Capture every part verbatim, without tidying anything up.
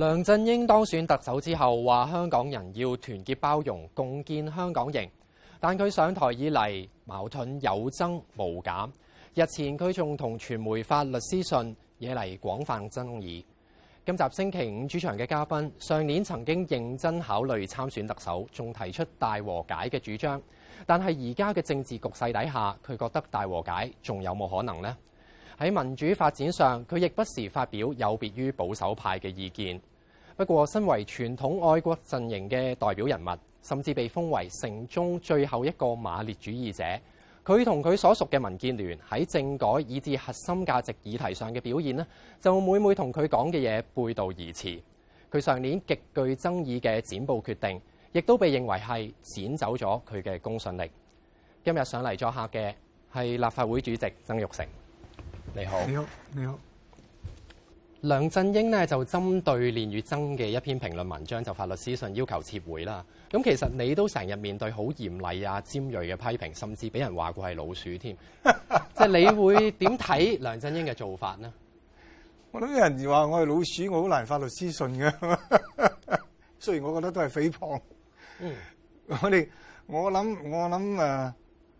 梁振英當選特首之後，話香港人要團結包容，共建香港營。但佢上台以嚟矛盾有增無減。日前佢仲同傳媒發律師信，惹嚟廣泛爭議。今集星期五主場嘅嘉賓，上年曾經認真考慮參選特首，仲提出大和解嘅主張。但係而家嘅政治局勢底下，佢覺得大和解仲有冇可能呢？喺民主發展上，佢亦不時發表有別於保守派嘅意見。不過，身為傳統愛國陣營嘅代表人物，甚至被封為城中最後一個馬列主義者，佢同佢所屬嘅民建聯喺政改以至核心價值議題上嘅表現呢，就每每同佢講嘅嘢背道而馳。佢上年極具爭議嘅剪布決定，亦都被認為係剪走咗佢嘅公信力。今日上嚟作客嘅係立法會主席曾鈺成。你好， 你好，你好。 梁振英呢就針對練乙錚嘅一篇評論文章就發律師信要求撤回啦。咁其實你都成日面對好嚴厲啊、尖鋭嘅批評，甚至俾人話過係老鼠添。即係你會點睇梁振英嘅做法呢？ 我諗有人話我係老鼠，我好難發律師信嘅。雖然我覺得都係誹謗。嗯，我哋我諗我諗誒，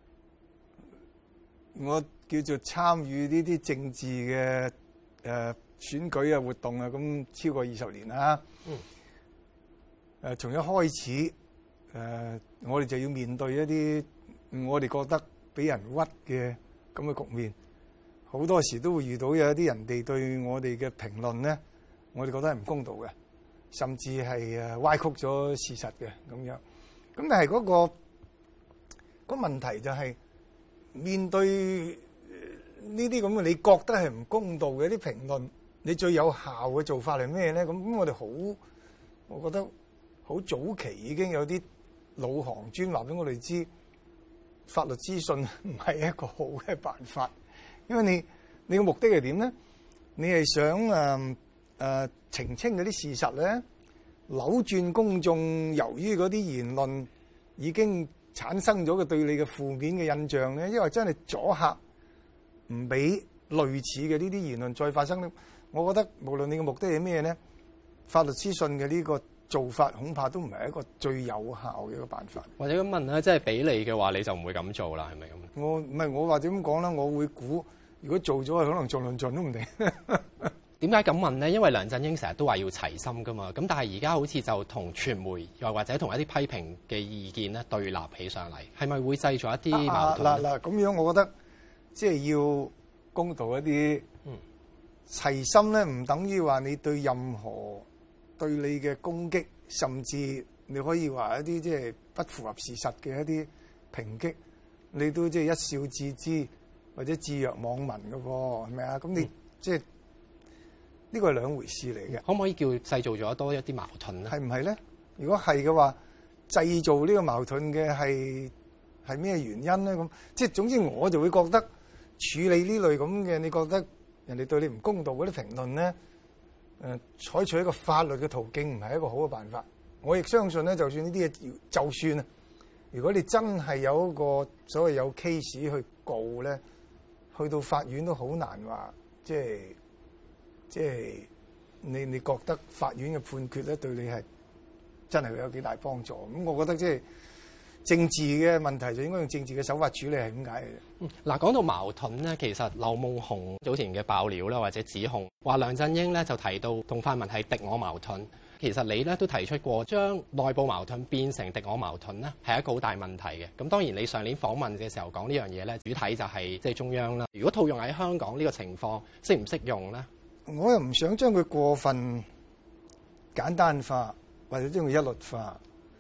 我叫做參與呢啲政治嘅誒、呃、選舉啊活動啊，咁超過二十年啦。嗯。誒、呃，從一開始誒、呃，我哋就要面對一啲我哋覺得俾人屈嘅咁嘅局面，好多時都會遇到有一啲人哋對我哋嘅評論咧，我哋覺得係唔公道嘅，甚至係誒歪曲咗事實嘅咁樣。咁但係嗰、那個、那個問題就係、是、面對呢啲咁嘅你覺得係唔公道嘅啲評論，你最有效嘅做法係咩咧？咁咁我哋好，我覺得好早期已經有啲老行專話俾我哋知，法律諮詢唔係一個好嘅辦法，因為你你嘅目的係點咧？你係想誒誒、呃呃、澄清嗰啲事實咧，扭轉公眾由於嗰啲言論已經產生咗嘅對你嘅負面嘅印象咧，因為真係阻嚇。唔俾類似嘅呢啲言論再發生咧，我覺得無論你嘅目的係咩咧，法律諮詢嘅呢個做法恐怕都唔係一個最有效嘅一個辦法。或者咁問咧，即係俾你嘅話，你就唔會咁做啦，係咪咁？我唔係我或者咁講啦，我會估如果做咗，可能做論盡都唔定。點解咁問咧？因為梁振英成日都話要齊心噶嘛，咁但係而家好似就同傳媒又或者同一啲批評嘅意見咧對立起上嚟，係咪會製造一啲矛盾？嗱嗱咁樣，我覺得。即係要公道一啲，嗯、齊心咧唔等於話你對任何對你嘅攻擊，甚至你可以話一啲即係不符合事實嘅一啲抨擊，你都即係一笑置之或者置若罔聞嘅喎，係咪啊？咁你、嗯、即係呢個係兩回事嚟嘅。可唔可以叫製造咗多一啲矛盾咧？係唔係咧？如果係嘅話，製造呢個矛盾嘅係係咩原因咧？咁即係總之我就會覺得。處理呢類咁嘅，你覺得人哋對你唔公道嗰啲評論咧，誒、呃、採取一個法律嘅途徑唔係一個好嘅辦法。我亦相信咧，就算呢啲嘢，就算啊，如果你真係有一個所謂有 case 去告咧，去到法院都好難話，即係即係你你覺得法院嘅判決咧對你係真係會有幾大幫助？咁我覺得即係。政治嘅問題就應該用政治嘅手法處理，係點解嘅？嗯，嗱，講到矛盾咧，其實劉夢熊早前嘅爆料啦，或者指控話梁振英咧就提到同泛民係敵我矛盾。其實你咧都提出過將內部矛盾變成敵我矛盾咧，係一個好大問題嘅。咁當然你上年訪問嘅時候講呢樣嘢咧，主體就係即係中央啦。如果套用喺香港呢個情況，適唔適用咧？我又唔想將佢過分簡單化，或者將佢一律化。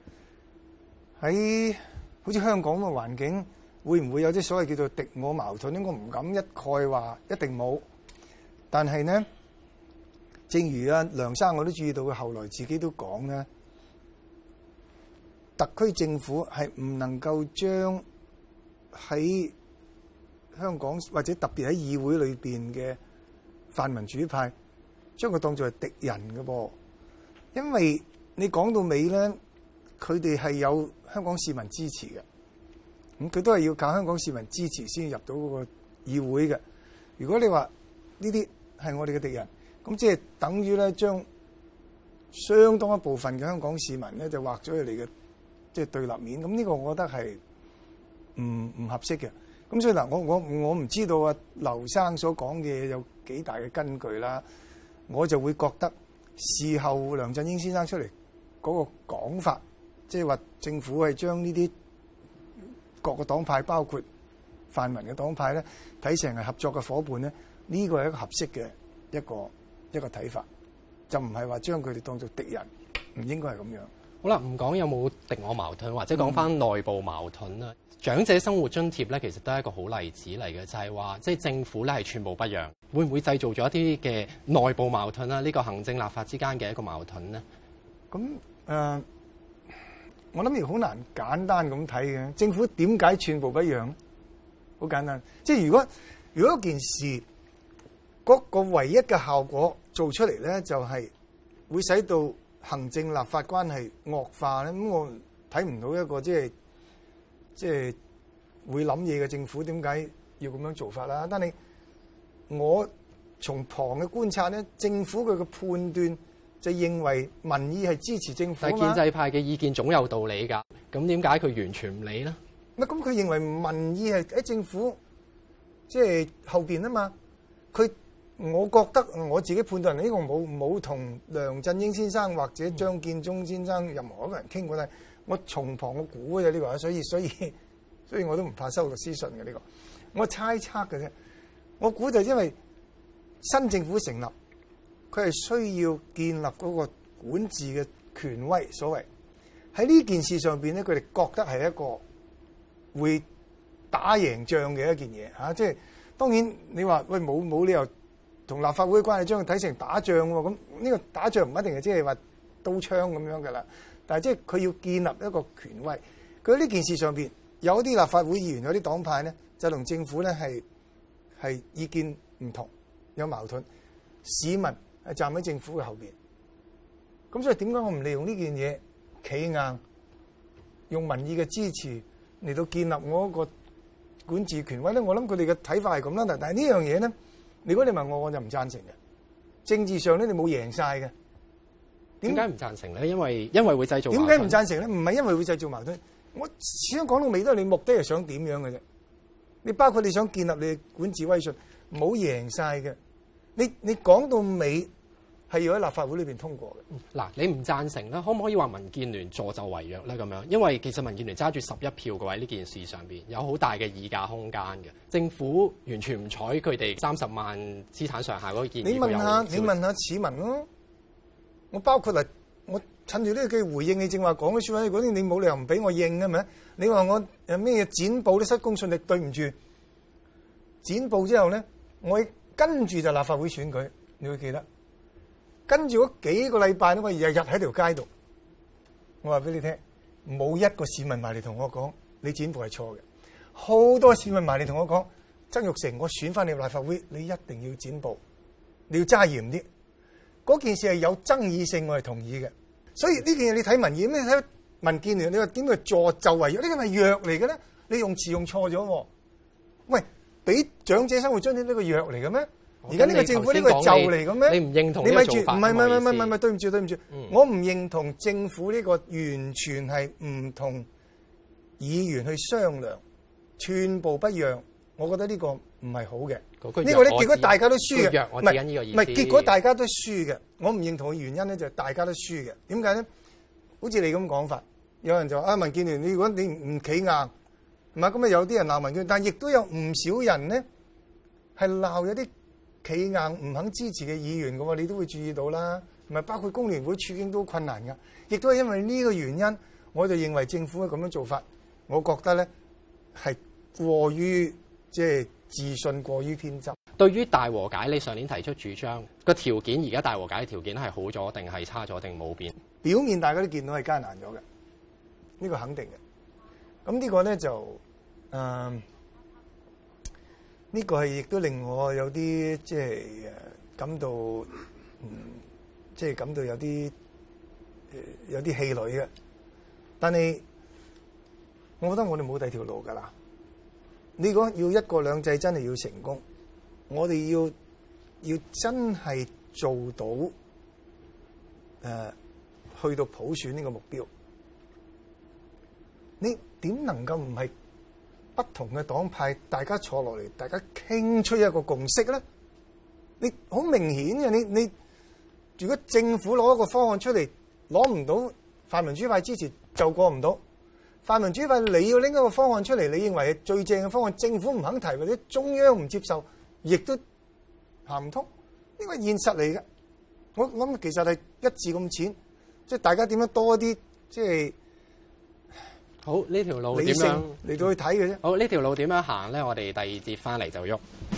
喺好似香港咁嘅環境，會唔會有啲所謂叫做敵我矛盾？應該唔敢一概話一定冇。但係呢，正如阿梁生我都注意到，佢後來自己都講咧，特區政府係唔能夠將喺香港或者特別喺議會裏邊嘅泛民主派，將佢當作係敵人嘅噃。因為你講到尾咧，佢哋係有香港市民支持嘅，咁佢都係要靠香港市民支持先入到嗰個議會嘅。如果你話呢啲係我哋嘅敵人，咁即係等於咧將相當一部分嘅香港市民咧就畫咗佢哋嘅即係對立面。咁呢個我覺得係唔唔合適嘅。咁所以嗱，我我我唔知道啊，劉生所講嘅嘢有幾大嘅根據啦。我就會覺得事後梁振英先生出嚟嗰個講法，即係話政府係將呢啲各個黨派，包括泛民嘅黨派咧，睇成係合作嘅伙伴咧，呢個係一個合適嘅一個一個睇法，就唔係話將佢哋當做敵人，唔應該係咁樣。 好啦，唔講有冇敵我矛盾，或者講翻內部矛盾啦。嗯、長者生活津貼咧，其實都係一個好例子嚟嘅，就係話即係政府咧係寸步不讓，會唔會製造咗一啲嘅內部矛盾啦？呢、這個行政立法之間嘅一個矛盾咧？ 咁誒、呃，我諗亦好難簡單咁睇嘅。政府點解寸步不讓？好簡單，即係如果如果件事嗰、那個唯一嘅效果做出嚟咧，就係、是、會使到行政立法關係惡化咧，咁我睇唔到一個即係即係會諗嘢嘅政府點解要咁樣做法啦？但係我從旁嘅觀察咧，政府佢嘅判斷就認為民意係支持政府啊嘛。 但係建制派嘅意見總有道理㗎，咁點解佢完全唔理咧？ 乜咁佢認為民意係喺政府即係後邊啊嘛？佢我覺得我自己判斷呢個冇冇同梁振英先生或者張建宗先生任何一個人傾過，但係我從旁我估嘅呢個，所以所以所以我都唔怕收律師信嘅呢個，我猜測嘅啫。我估就因為新政府成立，佢係需要建立嗰個管治嘅權威，所謂喺呢件事上邊咧，佢哋覺得係一個會打贏仗嘅一件嘢嚇。即係當然你話喂冇冇理由同立法會嘅關係將佢睇成打仗喎，咁呢個打仗唔一定係即係話刀槍咁樣㗎啦。但係即係佢要建立一個權威，佢喺呢件事上邊有啲立法會議員有啲黨派咧，就同政府咧係係意見唔同，有矛盾。市民係站喺政府嘅後邊，咁所以點解我唔利用呢件嘢企硬，用民意嘅支持嚟到建立我一個管治權威咧？我諗佢哋嘅睇法係咁啦。但係呢樣嘢咧，如果你問我，我就唔贊成嘅。政治上咧，你冇贏晒嘅。 點解唔贊成咧？因為因為會製造矛盾。 點解唔贊成咧？唔係因為會製造矛盾。我始終講到尾都係你目的係想點樣嘅啫。你包括你想建立你嘅管治威信，冇贏晒嘅。你你講到尾係要喺立法會裏邊通過嘅。 嗱、嗯，你唔贊成咧，可唔可以話民建聯助紂為虐咧？咁樣，因為其實民建聯揸住十一票嘅話，呢件事上邊有好大嘅議價空間嘅。政府完全唔睬佢哋三十萬資產上下嗰個建議。 你問下，你問下市民咯。我包括嚟，我趁住呢個機會回應你正話講嘅説話，嗰啲你冇理由唔俾我應嘅咪？你話我誒咩剪報都失公信力，對唔住。剪報之後咧，我跟住就立法會選舉，你會記得。跟住嗰幾個禮拜咧，我日日喺條街度。我話俾你聽，冇一個市民埋嚟同我講你剪報係錯嘅。好多市民埋嚟同我講，曾鈺成，我選翻你立法會，你一定要剪報，你要揸嚴啲。嗰件事係有爭議性，我係同意嘅。所以呢件嘢你睇民意，咩睇民建聯？你話點解助紂為虐？呢個係藥嚟嘅咧？你用詞用錯咗。喂，俾長者生活津貼呢個藥嚟嘅咩？而家呢個政府呢個係紂嚟嘅咩？ 你唔認同呢個做法？ 唔係唔係唔係唔係唔係，對唔住對唔住， 嗯、 我唔認同政府呢個完全係唔同議員去商量，寸步不讓。我覺得呢個唔係好嘅。呢個咧，結果大家都輸嘅，唔係唔係，結果大家都輸嘅。我唔認同嘅原因咧，就係大家都輸嘅。點解咧？好似你咁講法，有人就話啊，民建聯，你如果你唔企硬，唔係咁啊，有啲人鬧民建聯，但係亦都有唔少人咧係鬧有啲企硬唔肯支持嘅議員嘅喎，你都會注意到啦。唔係包括工聯會處境都困難㗎，亦都係因為呢個原因，我就認為政府嘅咁樣做法，我覺得咧係過於即係。自信過於偏執。 對於大和解，你上年提出主張個條件，而家大和解嘅條件係好咗定係差咗定冇變？ 表面大家都見到係艱難咗嘅，呢個肯定嘅。咁呢個咧就誒，呢、呃這個係亦都令我有啲即係誒感到，嗯，即係感到有啲誒、呃、有啲氣餒嘅。但係我覺得我哋冇第二條路㗎啦。你講要一國兩制真係要成功，我哋要要真係做到呃、去到普選呢個目標，你點能夠唔係不同嘅黨派大家坐落嚟，大家傾出一個共識咧？你好明顯嘅，你你如果政府攞一個方案出嚟，攞唔到泛民主派支持就過唔到。泛民主派你要拎一個方案出嚟，你認為係最正嘅方案，政府唔肯提或者中央唔接受，亦都行唔通。呢個係現實嚟嘅。我諗其實係一字咁淺，即係大家點樣多啲即係好呢條路點理性樣嚟到去睇嘅啫。 好呢條路點樣行咧？我哋第二節翻嚟就喐。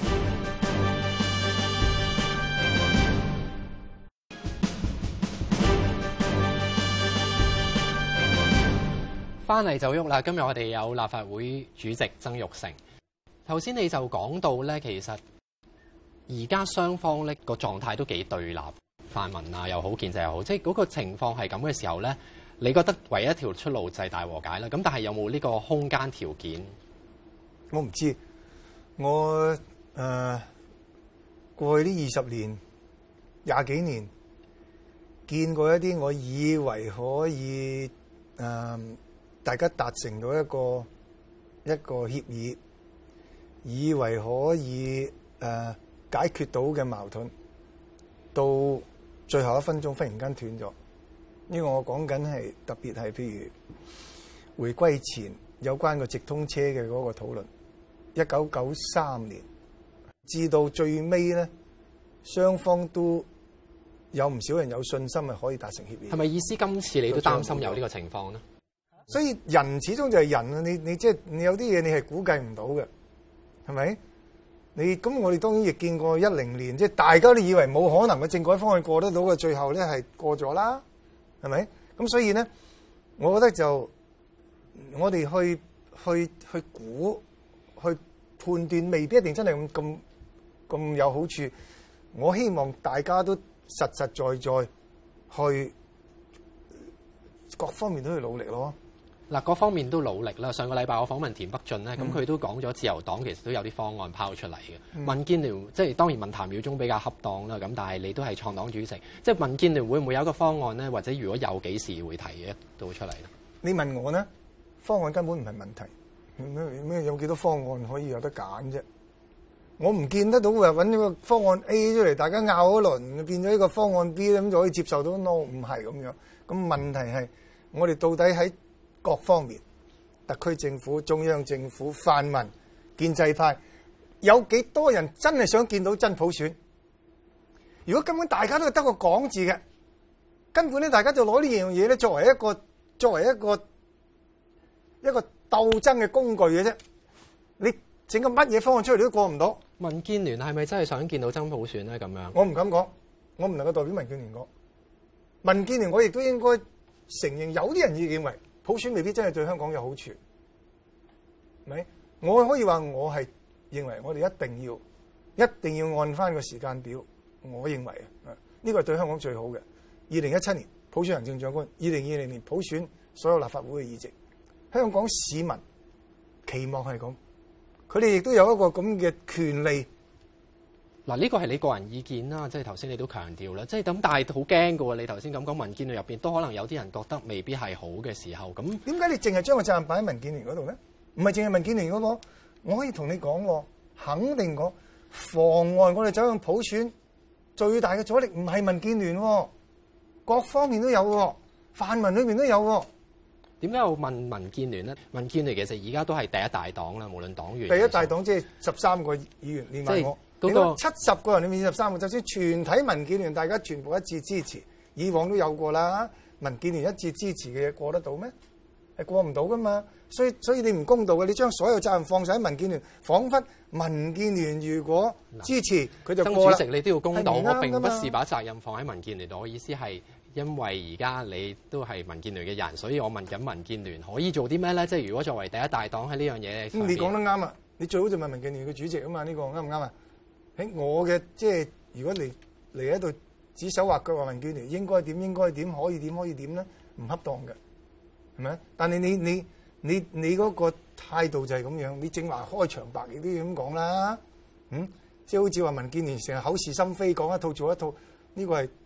翻嚟就喐啦！今日我哋有立法會主席曾鈺成。頭先你就講到咧，其實而家雙方咧個狀態都幾對立，泛民啊又好，建制又好，即係嗰個情況係咁嘅時候咧，你覺得唯一一條出路就係大和解啦？咁但係有冇呢個空間條件？ 我唔知，我誒、呃、過去呢二十年、廿幾年見過一啲我以為可以誒。呃大家達成到一個一個協議，以為可以誒、呃、解決到嘅矛盾，到最後一分鐘忽然間斷咗。呢個我講緊係特別係譬如回歸前有關個直通車嘅嗰個討論，一九九三年至到最尾咧，雙方都有唔少人有信心係可以達成協議。 係咪意思今次你都擔心有呢個情況咧？ 所以人始終就係人啊！你你即係你有啲嘢你係估計唔到嘅，係咪？你咁我哋當然亦見過一零年，即係大家都以為冇可能嘅政改方案過得到嘅，最後咧係過咗啦，係咪？咁所以咧，我覺得就我哋去去去估去判斷，未必一定真係咁咁咁有好處。我希望大家都實實在在去各方面都去努力咯。 嗱，各方面都努力啦。上個禮拜我訪問田北俊咧，咁佢、 嗯、 都講咗自由黨其實都有啲方案拋出嚟嘅。 嗯、 民建聯即係當然問譚耀宗比較恰當啦，咁但係你都係創黨主席，即係民建聯會唔會有一個方案咧？或者如果有幾時會提嘅到出嚟咧？ 你問我呢，方案根本唔係問題。咩咩有幾多方案可以有得揀啫？我唔見得到話揾呢個方案 A 出嚟，大家拗一輪變咗呢個方案 B 咁就可以接受到 no， 唔係咁樣。咁問題係我哋到底喺各方面，特區政府、中央政府、泛民、建制派，有幾多人真係想見到真普選？如果根本大家都係得個講字嘅，根本咧大家就攞呢樣嘢咧作為一個作為一個一個鬥爭嘅工具嘅啫。你整個乜嘢方案出嚟都過唔到。 民建聯係咪真係想見到真普選咧？咁樣我唔敢講，我唔能夠代表民建聯講。民建聯我亦都應該承認，有啲人亦認為普選未必真係對香港有好處，係咪？我可以話我係認為我哋一定要一定要按翻個時間表。我認為啊，呢個係對香港最好嘅。二零一七年普選行政長官，二零二零年普選所有立法會嘅議席。香港市民期望係咁，佢哋亦都有一個咁嘅權利。 嗱，呢個係你個人意見啦，即係頭先你都強調啦，即係咁，但係好驚㗎喎。你頭先咁講，民建聯入邊都可能有啲人覺得未必係好嘅時候，咁點解你淨係將個責任擺喺民建聯嗰度咧？唔係淨係民建聯嗰個，我可以同你講喎，肯定講妨礙我哋走向普選最大嘅阻力唔係民建聯喎，各方面都有喎，泛民裏邊都有喎。 點解我問民建聯咧？民建聯其實而家都係第一大黨啦，無論黨員。 第一大黨即係十三個議員連埋我。 嗰個七十個人裏面二十三個，就算全體民建聯大家全部一致支持，以往都有過啦。民建聯一致支持嘅嘢過得到咩？係過唔到噶嘛。所以所以你唔公道嘅，你將所有責任放晒喺民建聯，彷彿民建聯如果支持佢就過啦。 曾主席，你都要公道，我並不是把責任放喺民建聯度。我意思係因為而家你都係民建聯嘅人，所以我問緊民建聯可以做啲咩咧？即係如果作為第一大黨喺呢樣嘢， 咁你講得啱啊！你最好就問民建聯嘅主席啊嘛，呢個啱唔啱啊？喺我嘅即係，如果你嚟喺度指手畫腳話民建聯應該點應該點可以點可以點咧，唔恰當嘅，係咪？但係你你你你嗰個態度就係咁樣，你正話開場白亦都要咁講啦，嗯，即係好似話民建聯成日口是心非講一套做一套，呢個係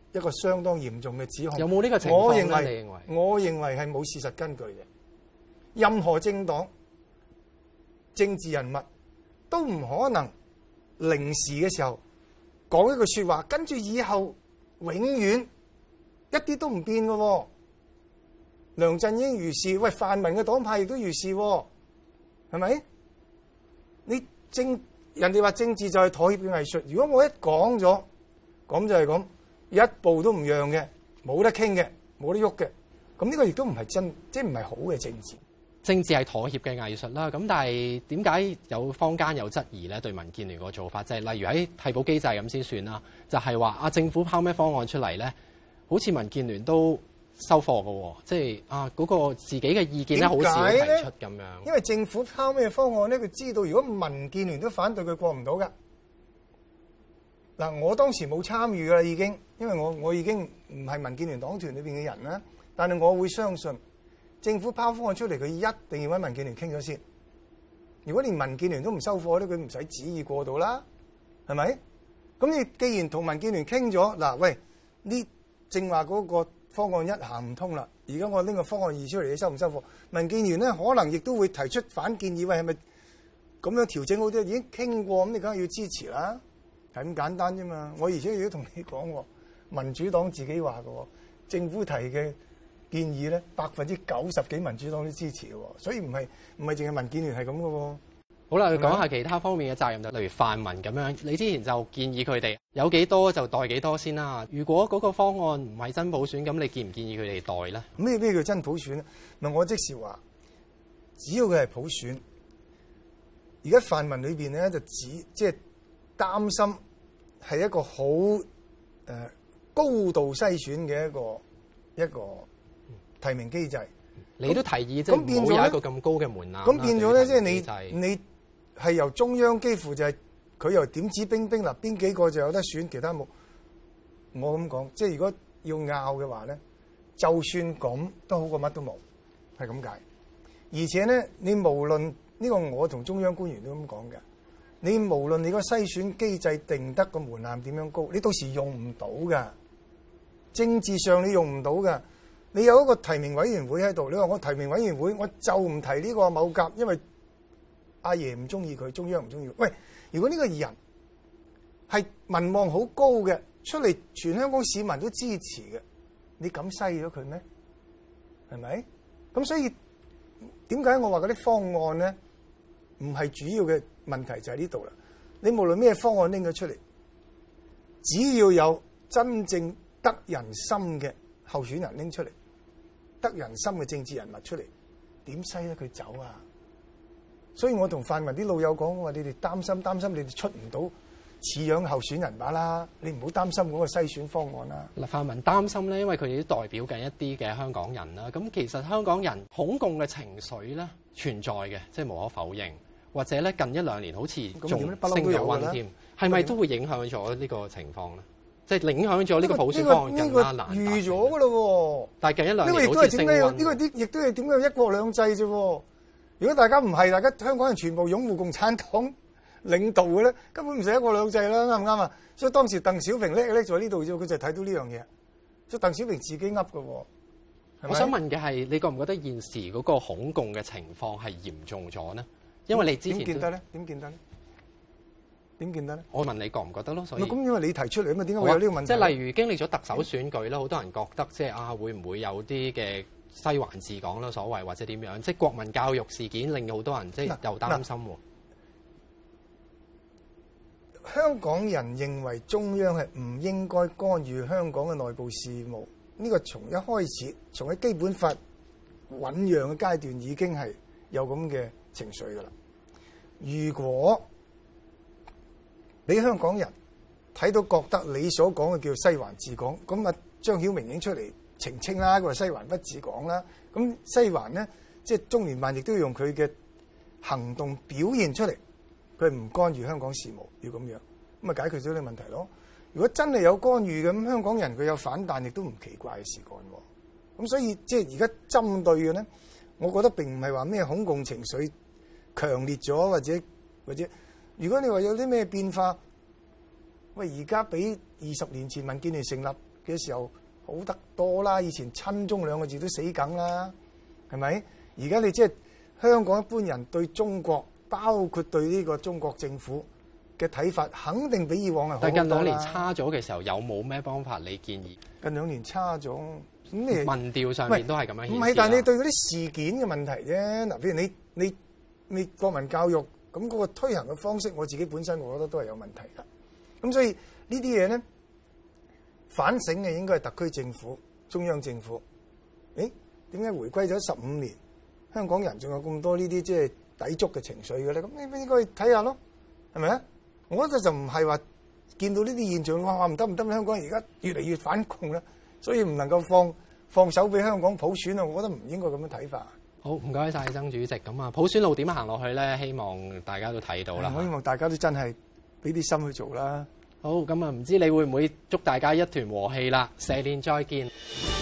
一個相當嚴重嘅指控。 有冇呢個情況咧？ 我認為， 你認為？ 我認為係冇事實根據嘅。任何政黨、政治人物都唔可能零時嘅時候講一句説話，跟住以後永遠一啲都唔變嘅喎。梁振英如是，喂，泛民嘅黨派亦都如是喎，係咪？你政人哋話政治就係妥協嘅藝術。如果我一講咗，咁就係咁，一步都唔讓嘅，冇得傾嘅，冇得喐嘅，咁呢個亦都唔係真，即係唔係好嘅政治。 政治係妥協嘅藝術啦，咁但係點解有坊間有質疑咧？對民建聯個做法，就係例如喺替補機制咁先算啦，就係話啊政府拋咩方案出嚟咧，好似民建聯都收貨嘅喎，即係啊嗰個自己嘅意見咧，好少提出咁樣。 因為政府拋咩方案咧，佢知道如果民建聯都反對，佢過唔到㗎。嗱，我當時冇參與㗎啦，已經，因為我我已經唔係民建聯黨團裏邊嘅人啦，但係我會相信。政府拋方案出嚟，佢一定要揾民建聯傾咗先。如果連民建聯都唔收貨咧，佢唔使旨意過到啦，係咪？咁你既然同民建聯傾咗，嗱，喂，呢正話嗰個方案一行唔通啦，而家我拎個方案二出嚟，你收唔收貨？民建聯咧可能亦都會提出反建議，喂，係咪咁樣調整好啲？已經傾過，咁你梗係要支持啦，係咁簡單啫嘛。我而且亦都同你講喎，民主黨自己話嘅喎，政府提嘅建議咧，百分之九十幾民主黨都支持嘅喎，所以唔係唔係淨係民建聯係咁嘅喎。 好啦，講下其他方面嘅責任，就例如泛民咁樣，你之前就建議佢哋有幾多就代幾多先啦。如果嗰個方案唔係真普選，咁你建唔建議佢哋代咧？ 咩咩叫真普選咧？咪我即時話，只要佢係普選，而家泛民裏邊咧就只即係擔心係一個好誒、呃、高度篩選嘅一個一個提名機制。 你都提議即係唔好有一個咁高嘅門檻。 咁變咗咧，即係你你係由中央幾乎就係、是、佢又點指兵兵嗱，邊幾個就有得選，其他冇。我咁講，即係如果要拗嘅話咧，就算咁都好過乜都冇，係咁解。而且咧，你無論呢、這個我同中央官員都咁講嘅，你無論你個篩選機制定得個門檻點樣高，你到時用唔到噶。政治上你用唔到噶。你有一個提名委員會喺度，你話我提名委員會我就唔提呢個某甲，因為阿爺唔中意佢，中央唔中意佢。喂，如果呢個人係民望好高嘅，出嚟全香港市民都支持嘅，你敢篩咗佢咩？係咪？咁所以點解我話嗰啲方案咧，唔係主要嘅問題就喺呢度啦。你無論咩方案拎咗出嚟，只要有真正得人心嘅候選人拎出嚟，得人心嘅政治人物出嚟，點篩得佢走啊？所以我同泛民啲老友講，我話你哋擔心擔心，你哋出唔到似樣候選人把啦，你唔好擔心嗰個篩選方案啦。 嗱，泛民擔心咧，因為佢哋都代表緊一啲嘅香港人啦。咁其實香港人恐共嘅情緒咧存在嘅，即係無可否認。或者咧近一兩年好似仲升咗溫添，係咪都會影響咗呢個情況咧？即係影響咗呢個普選方案更加難。 預咗㗎咯喎！ 但係近一兩年好似升溫。呢個啲亦都係點解一國兩制啫喎？如果大家唔係，大家香港人全部擁護共產黨領導嘅咧，根本唔使一國兩制啦，啱唔啱啊？所以當時鄧小平叻叻在呢度啫，佢就睇到呢樣嘢。所以鄧小平自己噏嘅喎。 我想問嘅係，你覺唔覺得現時嗰個恐共嘅情況係嚴重咗呢？因為你之前點見得咧？點見得咧？點見得咧？ 我問你覺唔覺得咯？所以咁因為你提出嚟啊嘛，點解會有呢個問題？ 即係例如經歷咗特首選舉啦，好多人覺得即係啊，會唔會有啲嘅西環治港啦，所謂或者點樣？即係國民教育事件令好多人即係又擔心喎。 香港人認為中央係唔應該干預香港嘅內部事務，呢個從一開始，從喺基本法醖釀嘅階段已經係有咁嘅情緒㗎啦。如果你香港人睇到覺得你所講嘅叫西環治港，咁啊張曉明已經出嚟澄清啦，佢話西環不治港啦。咁西環咧，即係中聯辦亦都要用佢嘅行動表現出嚟，佢唔干預香港事務，要咁樣，咁啊解決咗呢個問題咯。如果真係有干預嘅，咁香港人佢有反彈，亦都唔奇怪嘅事幹喎。咁所以即係而家針對嘅咧，我覺得並唔係話咩恐共情緒強烈咗，或者或者。如果你話有啲咩變化，喂，而家比二十年前民建聯成立嘅時候好得多啦。以前親中兩個字都死梗啦，係咪？而家你即係香港一般人對中國，包括對呢個中國政府嘅睇法，肯定比以往係好好多啦。 但近兩年差咗嘅時候，有冇咩方法你建議？ 近兩年差咗，咁你民調上面都係咁樣顯示。 唔係，但係你對嗰啲事件嘅問題啫。嗱，譬如你你你國民教育咁嗰個推行嘅方式，我自己本身我覺得都係有問題㗎。咁所以呢啲嘢咧，反省嘅應該係特區政府、中央政府。誒，點解回歸咗十五年，香港人仲有咁多呢啲即係抵觸嘅情緒嘅咧？咁你應該去睇下咯，係咪啊？我覺得就唔係話見到呢啲現象，哇！唔得唔得，香港而家越嚟越反共啦，所以唔能夠放放手俾香港普選啊！我覺得唔應該咁樣睇法。 好，唔該晒曾主席。咁啊，普選路點行落去咧？希望大家都睇到啦。 我希望大家都真係俾啲心去做啦。 好，咁啊，唔知你會唔會祝大家一團和氣啦？蛇年再見。